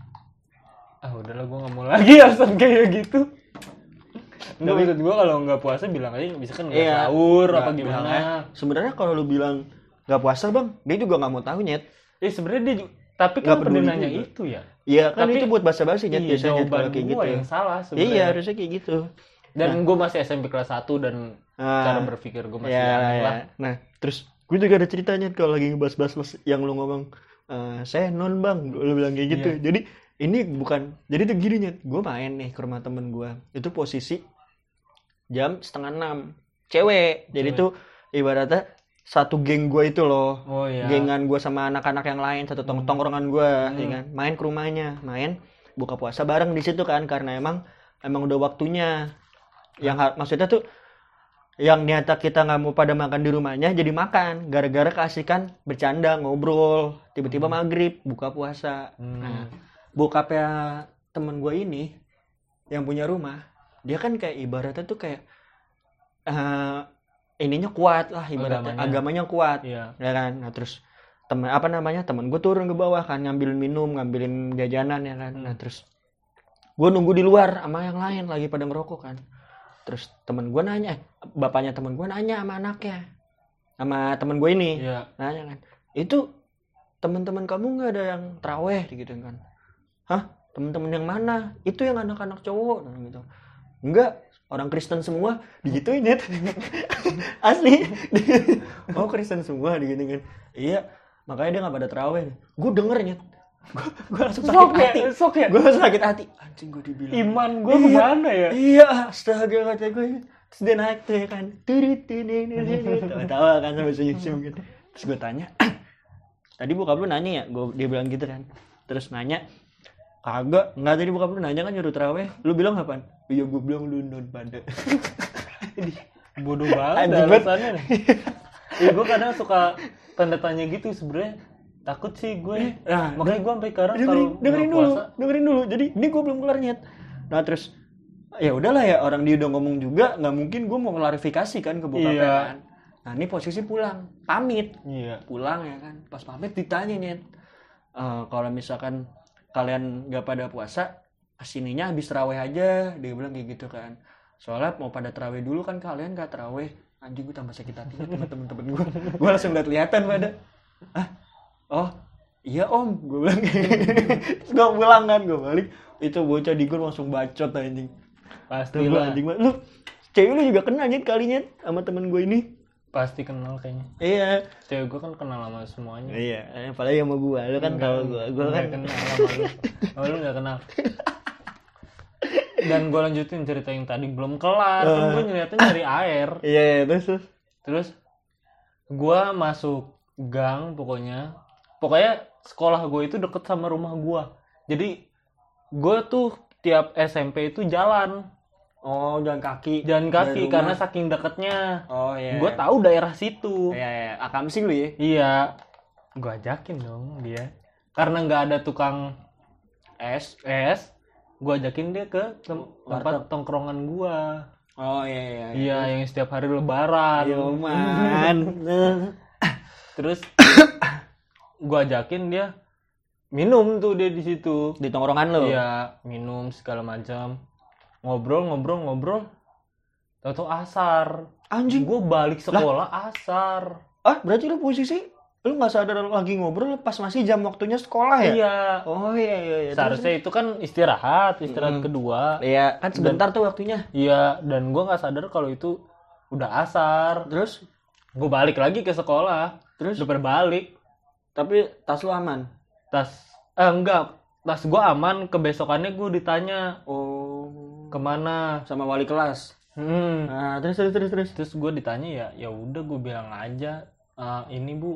ah udahlah gue nggak mau lagi alasan kayak gitu. Nggak, maksud gue kalau nggak puasa bilang aja bisa kan nggak Iya. sahur apa Nggak, gimana. bilangnya. Sebenarnya kalau lu bilang nggak puasa bang, dia juga nggak mau tahu nyet. Eh sebenarnya dia juga, tapi Nggak kan peduli pendenanya juga. itu ya. Iya kan Tapi- itu buat basa-basi nyet Iya, biasanya nyet, jawaban kalau kayak gue gitu. yang salah sebenarnya. Iya harusnya kayak gitu. Dan gue masih S M P kelas satu dan Ah. cara berpikir gue masih Ya, aneh ya. lah. Nah, terus gue juga ada ceritanya kalau lagi ngebahas-bahas mas- yang lu ngomong "Eh, saya non bang, lu bilang kayak gitu. Iya. Jadi ini bukan, jadi tuh gini nih, gue main nih ke rumah temen gue, itu posisi jam setengah enam, cewek. Jadi Cewek. tuh ibaratnya satu geng gue itu loh, Oh iya. gengan gue sama anak-anak yang lain, satu tong- Hmm. tongkrongan gue, Hmm. ya kan, main ke rumahnya, main buka puasa bareng di situ kan, karena emang emang udah waktunya. Yang ha- maksudnya tuh yang nyata kita nggak mau pada makan di rumahnya jadi makan gara-gara keasikan bercanda ngobrol tiba-tiba maghrib buka puasa. Hmm. Nah, bokapnya temen gue ini yang punya rumah dia kan kayak ibaratnya tuh kayak eh, ininya kuat lah ibaratnya Agamanya. agamanya, kuat Iya. ya kan. Nah terus temen apa namanya temen gue turun ke bawah kan ngambilin minum ngambilin jajanan ya kan. Nah terus gue nunggu di luar sama yang lain lagi pada ngerokok kan. Terus temen gue nanya, eh, bapaknya temen gue nanya sama anaknya, sama temen gue ini, Iya. nanya kan, itu teman-teman kamu nggak ada yang teraweh gitu kan? Hah? Teman-teman yang mana? Itu yang anak-anak cowok, nah, gitu. Enggak, orang Kristen semua, digituin ya. Asli. Oh Kristen semua, digituin. Iya, makanya dia nggak pada teraweh. Gue dengernya, gue langsung sakit Sok ya, hati. sok ya. Gue langsung sakit hati. Anjing gue dibilang. Iman gue Iya. kemana ya? Iya, astaga kata gue. Terus dia naik tuh ya kan. Turit, turit, turit. Tawa kan sampai senyum-senyum gitu. Terus gue tanya, tadi bokap lu nanya ya? Gue dia bilang gitu kan. Terus nanya, kagak. Enggak, tadi bokap lu nanya kan nyuruh terawih. Lu bilang apaan? Iya, gue bilang lu non pada. Bodoh banget Anjing banget. alasannya. Iya gue kadang suka tanda tanya gitu sebenarnya. Takut sih gue. Nah, Makanya gue sampai sekarang dengerin, kalau dengerin nggak dulu, puasa, dengerin dulu. Jadi ini gue belum kelar nyet. Nah terus ya udahlah ya orang dia udah ngomong juga, nggak mungkin gue mau klarifikasi kan ke bokapnya Iya. kan. Nah ini posisi pulang, pamit, iya. pulang ya kan. Pas pamit ditanya nyet, "Eh, kalau misalkan kalian nggak pada puasa, kesininya habis terawih aja, dia bilang kayak gitu kan. Soalnya mau pada terawih dulu kan kalian nggak terawih. Anjing gue tambah sakit hati sama temen-temen gue. Gue langsung lihat lihatan pada. Ah, oh iya om, gue bilang. Terus gue pulang kan, gue balik. Itu bocah di gue langsung bacot anjing. Pasti Tuh gue lah. anjing banget. Lu cewek lu juga kena nyet kalinya sama temen gue ini. Pasti kenal kayaknya. Iya. Cewek gue kan kenal sama semuanya. Iya, apalagi sama gue. Lu kan tahu gue. Gue Nggak kan kenal sama lu. Oh, lu nggak kenal. Dan gue lanjutin cerita yang tadi belum kelar. Kan gue nyeritain nyari air. Iya, iya, terus terus. Terus gue masuk gang pokoknya. Pokoknya sekolah gue itu deket sama rumah gue. Jadi gue tuh tiap S M P itu jalan. Oh, jalan kaki. Jalan Dari kaki rumah. karena saking deketnya. Oh iya. Gue tahu daerah situ. Iya, iya. Akam sih lu ya. Iya. Gue ajakin dong dia. Karena nggak ada tukang Es. es, gue ajakin dia ke tem- tempat Warteg. tongkrongan gue. Oh iya iya. Iya, yang setiap hari lebaran. Ayo man. Terus gue ajakin dia minum tuh dia di situ. Di tongkrongan lu. Iya, minum segala macam. Ngobrol, ngobrol, ngobrol. Tahu-tahu asar. Anjing. Gue balik sekolah asar. Ah, berarti lu posisi lu nggak sadar lagi ngobrol pas masih jam waktunya sekolah ya? Iya. Oh iya iya iya. Seharusnya itu kan istirahat, istirahat Mm. kedua. Iya, kan sebentar tuh waktunya. Iya, dan gue nggak sadar kalau itu udah asar. Terus Gue balik lagi ke sekolah. terus Udah berbalik. tapi tas lu aman. Tas, eh enggak, tas gue aman. Kebesokannya gue ditanya Oh. kemana. Sama wali kelas. Hmm. Nah, terus terus terus terus. Terus gue ditanya ya, ya udah gue bilang aja, "Eh, ini bu,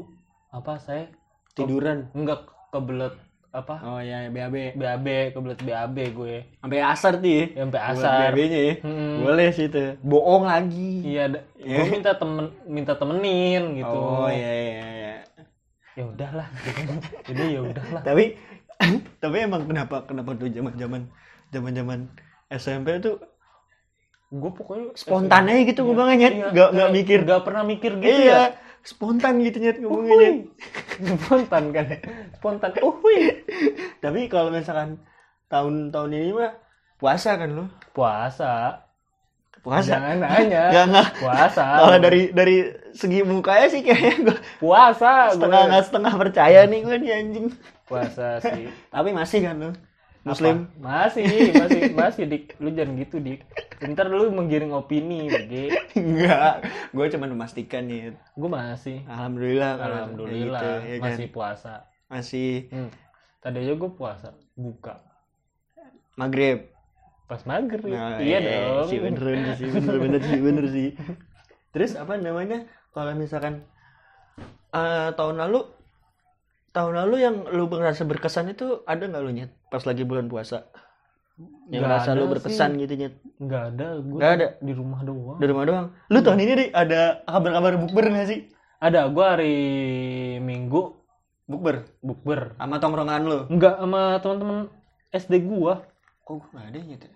apa saya Tiduran. enggak kebelet apa Oh ya, B A B. B A B, kebelet B A B gue. Sampai asar tuh ya. Sampai Buat asar. B A B-nya ya. Hmm. Boleh sih itu. Bohong lagi. Iya, da- gue minta temen minta temenin gitu. Oh iya iya iya. Ya udahlah. Jadi ya udahlah. Tapi tapi emang kenapa kenapa tuh zaman-zaman zaman-zaman S M P tuh Gue pokoknya spontan aja gitu ngomongnya, Iya, nggak nggak kayak mikir. nggak pernah mikir gitu Iya, ya. spontan gitu nyet ngomongnya. Spontan kan. Spontan. Uhuy. Tapi kalau misalkan tahun-tahun ini mah puasa kan lo? Puasa. Puasa. Jangan nanya. Nggak nggak. Puasa. Kalau dari dari segi mukanya sih kayaknya gue puasa setengah gue. nggak setengah percaya nih gue nih anjing. Puasa sih. Tapi masih kan lo? Muslim. Apa? Masih, masih, masih dik. Lu jangan gitu dik. Ntar lu menggiring opini, Bege. Enggak, gue cuma memastikan nih. Gue masih. Alhamdulillah. kalau Alhamdulillah kayak gitu, ya kan? masih puasa. Masih Hmm. Tadi aja gue puasa, buka maghrib. pas maghrib. Nah, Iya eh, dong. sih bener bener sih bener bener sih bener sih. Terus apa namanya? Kalau misalkan eh, tahun lalu tahun lalu yang lu merasa berkesan itu ada nggak lu nyet pas lagi bulan puasa? Yang Nggak merasa ada lu berkesan sih. gitu nyet? Nggak ada, gue Nggak ada? di rumah doang. Di rumah doang. Lu tahun ini deh ada kabar-kabar bukber nggak sih? Ada, gue hari Minggu Bukber bukber. sama tongkrongan lu? Enggak sama teman-teman S D gua. Kok gue nggak ada nyet?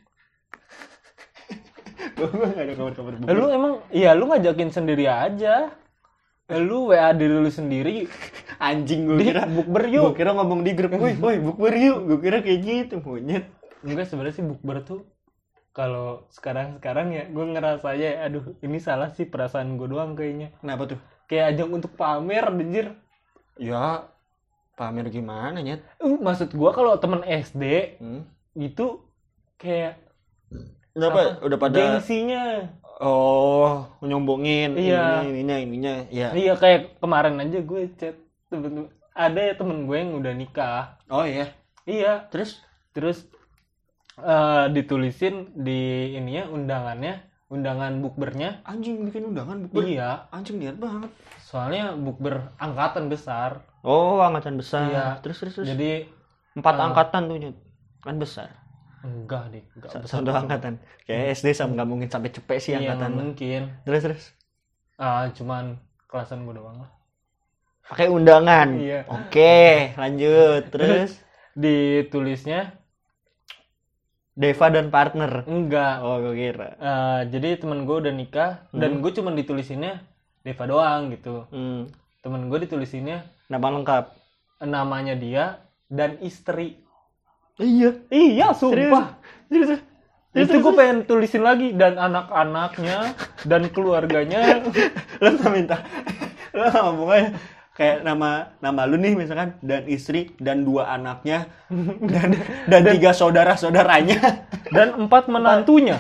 Gue nggak ada kabar-kabar bukber. Lu emang, ya lu ngajakin sendiri aja. Lu W A diri lu sendiri. Anjing gue Di kira bukber Gue yuk. kira ngomong di grup, woi, woi, bukber yuk. Gue kira kayak gitu, monyet. Enggak, sebenarnya sih bukber tuh kalau sekarang-sekarang ya gue ngerasanya aduh ini salah sih, perasaan gue doang kayaknya. Kenapa tuh? Kayak ajang untuk pamer anjir. Ya, pamer gimana, nyet? Uh, maksud gue kalau temen S D Hmm? itu kayak Kenapa? apa, Udah pada gengsinya. oh, nyombongin Iya. ini, ininya, ininya. Ya. Iya, kayak kemarin aja gue chat temen, ada ya temen gue yang udah nikah. Oh iya. Iya, Terus terus eh, ditulisin di ininya undangannya, undangan bukbernya. anjing bikin undangan bukber. Iya, Anjing niat banget. soalnya bukber angkatan besar. Oh, angkatan besar. Iya. Terus terus terus. Jadi empat eh, angkatan tuh, nyet. Kan besar. enggak deh, enggak Sa- besar. Satu angkatan. Kayak S D sama nggak mungkin sampai cepet sih Iya, angkatan. nggak lu. mungkin. Terus terus. Ah, cuman kelasan gue doang lah. Pakai undangan. Iya. Oke, lanjut. Terus Ditulisnya Deva dan partner. enggak. Oh, gue kira. Eh, jadi temen gue udah nikah dan gue cuman ditulisinnya Deva doang gitu. Hmm. Temen gue ditulisinnya Nama lengkap. namanya dia dan istri. Iya. Iya, sumpah. Serius. Itu gue pengen tulisin lagi dan anak-anaknya dan keluarganya. Lo nggak minta. Lo nggak ngomong aja. Kayak nama nama lu nih misalkan dan istri dan dua anaknya dan dan tiga saudara saudaranya Dan empat menantunya.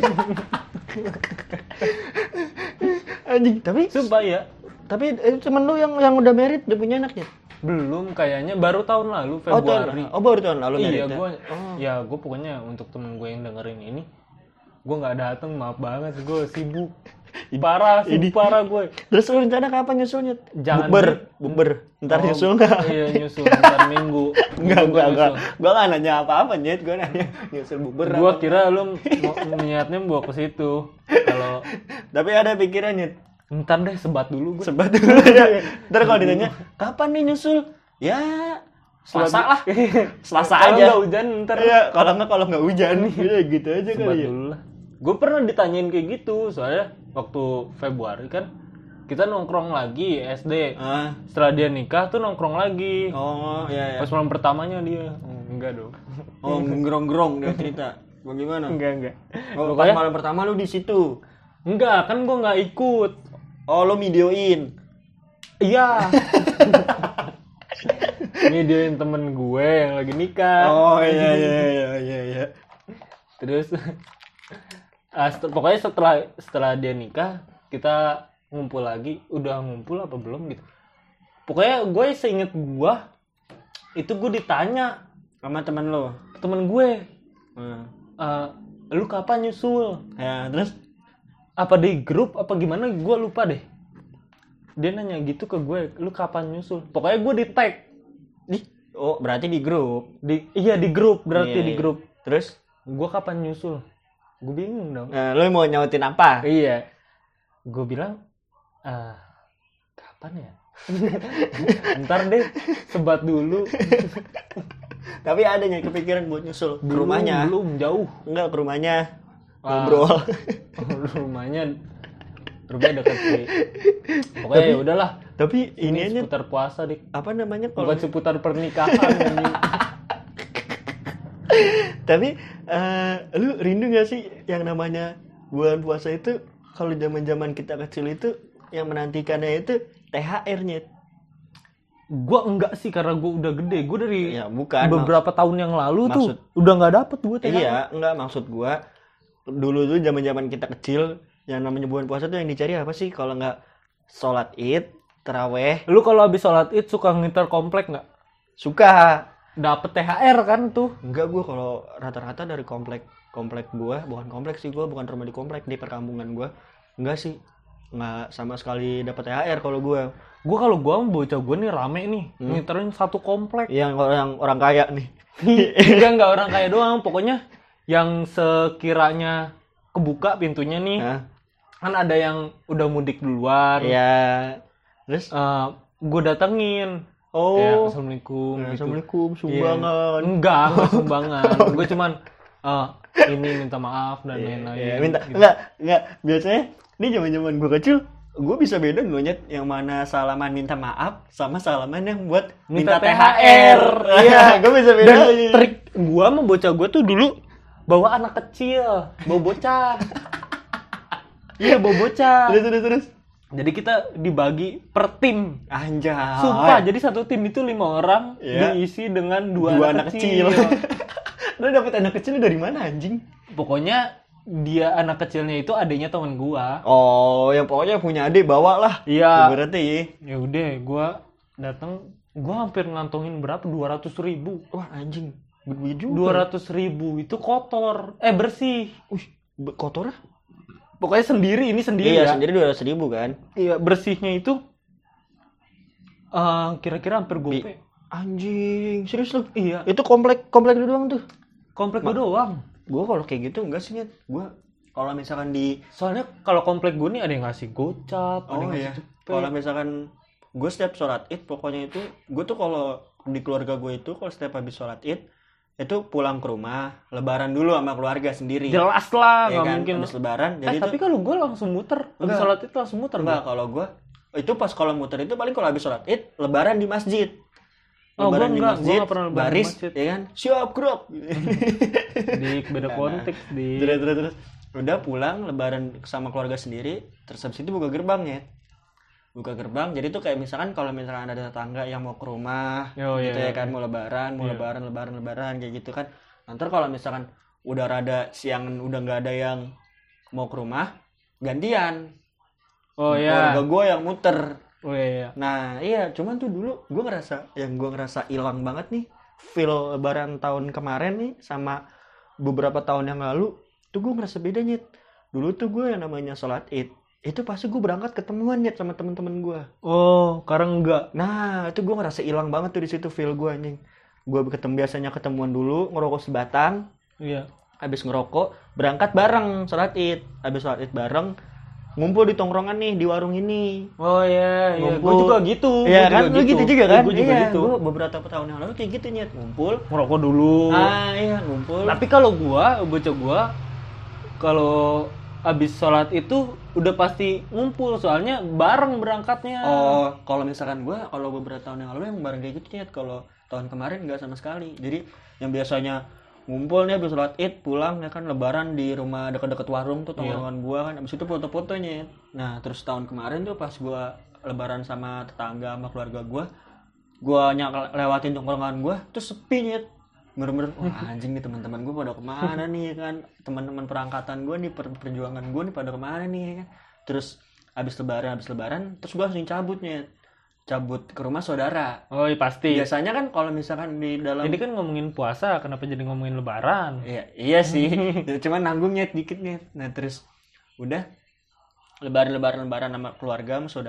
anjing. Tapi Sumpah ya. tapi eh, temen lu yang yang udah married udah punya anaknya? Belum, kayaknya baru tahun lalu Oh, tahun, Februari. oh baru tahun lalu Iya, married. gue Oh. ya gue pokoknya untuk temen gue yang dengerin ini, gue nggak datang, maaf banget, gue sibuk, parah, sibuk parah gue. Terus lu rencana kapan nyusulnya? Jangan Bukber, di- bukber. Ntar Oh, nyusul nggak? Iya, nyusul ntar minggu. Enggak, Minggu enggak, gua enggak. nyusul. Gua nggak nanya apa-apa, Nyet. Gua nanya nyusul bukber. Gue apa. kira lu mau niatnya bawa ke situ. Kalau Tapi ada pikiran, Nyet. ntar deh sebat dulu gue. Sebat dulu ya. Ntar kalau ditanya, kapan nih nyusul? Ya, Selasa lah. Selasa Kalau aja. nggak hujan ntar Iya, kalau nggak kalau nggak hujan. Udah gitu aja sebat kali ya. dulu lah. Gue pernah ditanyain kayak gitu, soalnya waktu Februari kan kita nongkrong lagi S D. Ah. Setelah dia nikah tuh nongkrong lagi. Oh, iya ya. Pas malam pertamanya dia. Oh, enggak dong. Oh, gerong-gerong dia cerita. Bagaimana? Enggak, enggak. Oh, pas Pokoknya malam pertama lu di situ. enggak, kan gua enggak ikut. Oh, lu videoin. Iya. Videoin temen gue yang lagi nikah. Oh, iya iya iya iya iya. Terus ah, set- pokoknya setelah setelah dia nikah, kita ngumpul lagi. Udah ngumpul apa belum gitu. Pokoknya gue seinget gue itu gue ditanya Sama teman lu. temen gue, Hmm. "Eh, lu kapan nyusul? Ya, terus Apa di grup apa gimana, gue lupa deh." dia nanya gitu ke gue, lu kapan nyusul? Pokoknya gue di tag. Di, oh berarti di grup. Di, iya di grup, berarti Iya, di iya. grup. Terus? Gue kapan nyusul? Gue bingung dong. Nah, lu mau nyautin apa? Iya. Gue bilang, ah, kapan ya? Ntar deh, sebat dulu. Tapi ada yang kepikiran buat nyusul ke Belum, rumahnya. Belum, jauh. Enggak, ke rumahnya. Ah. Ngobrol. rumahnya rumahnya dekat sih. Pokoknya ya udahlah. Tapi ini Ini aja seputar puasa dik. apa namanya kalau Bukan seputar pernikahan. anjing. tapi eh, lu rindu gak sih yang namanya bulan puasa itu kalau zaman-zaman kita kecil itu yang menantikannya itu T H R-nya. Gua enggak sih karena gua udah gede. Gua dari Ya bukan. beberapa tahun yang lalu tuh maksud- udah nggak dapet gua T H R. Iya, enggak maksud gua dulu tuh zaman-zaman kita kecil yang namanya bulan puasa tuh yang dicari apa sih kalau nggak sholat Id, taraweh, Lu kalau habis sholat Id suka nginter komplek nggak? suka. Dapet T H R kan tuh. Enggak, gua kalau rata-rata dari komplek komplek gua, bukan komplek sih, gua bukan rumah di komplek, di perkampungan gua. Enggak sih. Enggak sama sekali dapat T H R kalau gua. Gua kalau gua sama bocah gua nih rame nih, Hmm. ngiterin satu komplek. Yang orang orang kaya nih. Enggak enggak orang kaya doang, pokoknya yang sekiranya kebuka pintunya nih, Hah? kan ada yang udah mudik duluan. Ya. Terus Eh, gue datengin. oh, Ya, assalamualaikum. gitu. Assalamualaikum, Iya. sumbangan. Enggak, enggak sumbangan. Gue cuman eh, ini minta maaf dan Iya, lain-lain. iya, minta gitu. enggak enggak biasanya ini zaman-zaman gue kecil gue bisa beda loh Nyet, yang mana salaman minta maaf sama salaman yang buat minta, Minta T H R. T H R. Iya, gue bisa beda. Dan trik gue sama bocah gue tuh dulu bawa anak kecil, bawa bocah. Iya, bawa bocah. Terus terus terus. Jadi kita dibagi per tim. Anjay. Sumpah, jadi satu tim itu lima orang Iya. diisi dengan dua, dua anak, anak kecil. kecil. Lu dapet anak kecil dari mana anjing? Pokoknya dia anak kecilnya itu adiknya teman gua. Oh, yang pokoknya punya adik bawa lah. Iya. Berarti Ya udah, gua datang, gua hampir ngantongin berapa? dua ratus ribu. wah anjing. Gede juga. dua ratus ribu itu kotor. Eh bersih. Wih, be- kotor? Pokoknya sendiri, ini sendiri Iya, ya. sendiri dua ratus ribu kan. Iya, bersihnya itu eh, kira-kira hampir gope. Anjing, serius lu? Iya, Itu komplek komplek lu doang tuh. komplek gua doang. Gue kalau kayak gitu enggak sih Nyet. Gue kalau misalkan di Soalnya kalau komplek gua nih ada yang ngasih gocap, ada oh yang iya, ngasih cepet. kalau misalkan gue setiap sholat id pokoknya itu gue tuh kalau di keluarga gue itu kalau setiap habis sholat id itu pulang ke rumah lebaran dulu sama keluarga sendiri. Jelas lah, ya nggak kan? mungkin. Habis lebaran. Eh, Jadi tapi tuh, kalau gue langsung muter, habis Enggak. sholat itu langsung muter. enggak kalau gue itu pas kalau muter itu paling kalau habis sholat id lebaran di masjid. Oh, Lebaran gua di enggak, masjid, gua nggak pernah lebaran di baris, masjid. ya kan? Siap gerak. Di beda konteks di. terus terus terus udah pulang lebaran sama keluarga sendiri terus habis itu buka gerbangnya buka gerbang jadi tuh kayak misalkan kalau misalkan ada tetangga yang mau ke rumah Oh, gitu iya, ya kan iya. mau lebaran mau Iya. lebaran lebaran lebaran kayak gitu kan nanti kalau misalkan udah rada siang udah nggak ada yang mau ke rumah gantian Oh keluarga ya. gue yang muter. Oh iya. Nah iya cuman tuh dulu gue ngerasa yang gue ngerasa hilang banget nih feel lebaran tahun kemarin nih sama beberapa tahun yang lalu tuh gue ngerasa beda Nyet. Dulu tuh gue yang namanya sholat id itu pasti gue berangkat ketemuan Nyet sama temen-temen gue. Oh, sekarang enggak. Nah itu gue ngerasa hilang banget tuh di situ feel gue anjing. Gue ketemu biasanya ketemuan dulu ngerokok sebatang, Iya. habis ngerokok berangkat bareng sholat id, habis sholat id bareng ngumpul di tongkrongan nih di warung ini. Oh iya, iya. Gue Ngumpul. juga gitu. Iya Gua kan, juga lu gitu juga kan? Gue juga iya, gitu. gua beberapa tahun yang lalu kayak gitu Nyet, ngumpul. Ngerokok dulu. Ah iya ngumpul. Tapi kalau gua, bocah gua, kalau habis sholat itu udah pasti ngumpul, soalnya bareng berangkatnya. Oh, kalau misalkan gua kalau beberapa tahun yang lalu yang bareng kayak gitu Nyet, kalau tahun kemarin nggak sama sekali. Jadi yang biasanya ngumpul nih habis sholat id pulang ya kan lebaran di rumah dekat-dekat warung tuh tongkrongan gua kan habis itu foto-fotonya. Nah terus tahun kemarin tuh pas gua lebaran sama tetangga sama keluarga gua gua nyak lewatin tongkrongan gua terus sepi Nyet. Bener-bener wah anjing nih teman-teman gua pada kemana nih ya kan teman-teman perangkatan gua nih per- perjuangan gua nih pada kemana nih ya kan. Terus habis lebaran habis lebaran terus gua langsung cabut Nyet. Cabut ke rumah saudara. Oh iya pasti. Biasanya kan kalau misalkan di dalam Ini kan ngomongin puasa, kenapa jadi ngomongin lebaran? Iya, iya sih. Cuman nanggungnya dikit nih. Nah, terus udah lebaran lebaran lebaran sama keluarga sama saudara.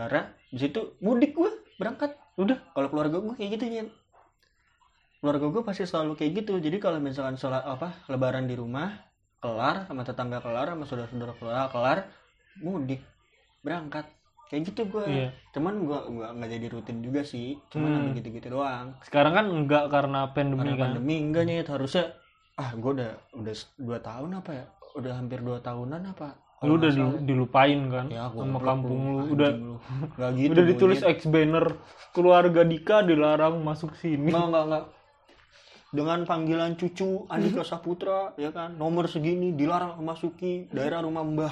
di situ mudik gue berangkat. Udah. Kalau keluarga gue kayak gitu Nyen. Keluarga gue pasti selalu kayak gitu. Jadi kalau misalkan sholat apa lebaran di rumah kelar, sama tetangga kelar, sama saudara-saudara kelar, kelar mudik berangkat kayak gitu gue. Iya. Cuman gue gue nggak jadi rutin juga sih, cuman Hmm. sampai gitu-gitu doang. Sekarang kan enggak karena pandemi Karena kan. pandemi enggak Nyet, harusnya ah gue udah udah dua tahun apa ya, udah hampir dua tahunan apa. Lu Kalau udah nggak di- salah. dilupain kan Ya, sama goblok kampung lu. anjing Udah lu. Nggak gitu, udah ditulis Nyet. X banner keluarga Dika dilarang masuk sini. Nggak, nggak, nggak. Dengan panggilan cucu Andika Saputra, ya kan, nomor segini dilarang memasuki daerah rumah Mbah.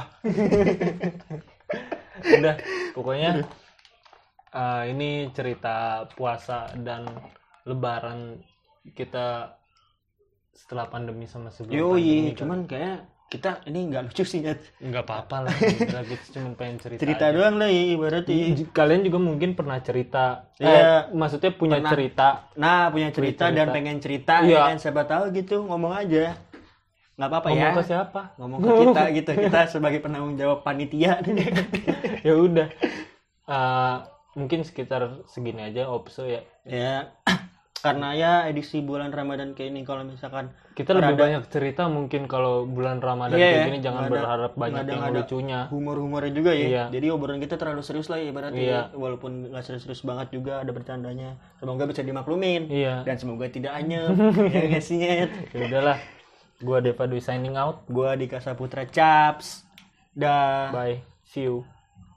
Udah, pokoknya eh, ini cerita puasa dan lebaran kita setelah pandemi sama sebelum pandemi. Yoi, kan. cuman kayak kita ini nggak lucu sih Nyet. Nggak apa-apa lah, gila, kita cuma pengen cerita. Cerita aja. doang lah ya ibaratnya. J- Kalian juga mungkin pernah cerita, Iya. eh, maksudnya punya Pernah. cerita. Nah, punya cerita, Punya cerita. dan pengen cerita, Iya. ya kan, siapa tahu gitu, ngomong aja. Nggak apa-apa Ngomong ya. ke siapa? Ngomong ke kita gitu, kita sebagai penanggung jawab panitia. Ya udah, Eh, mungkin sekitar segini aja opso ya. Ya, karena ya edisi bulan Ramadan kayak ini, kalau misalkan Kita lebih Rada- banyak cerita mungkin kalau bulan Ramadan Iya, kayak ya. gini jangan Nggak ada- berharap banyak nggak ada- yang nggak ada lucunya. humor-humornya juga ya. Iya. Jadi obrolan kita terlalu serius lah ya ibaratnya. Iya. ya. Walaupun nggak serius-serius banget juga ada bercandanya. Semoga bisa dimaklumin. Iya. Dan semoga tidak anyep. Ya nggak sih, Nyet? Ya udahlah. Gua Deva Dwi signing out. Gua Dika Saputra Caps. Dah. Bye. See you.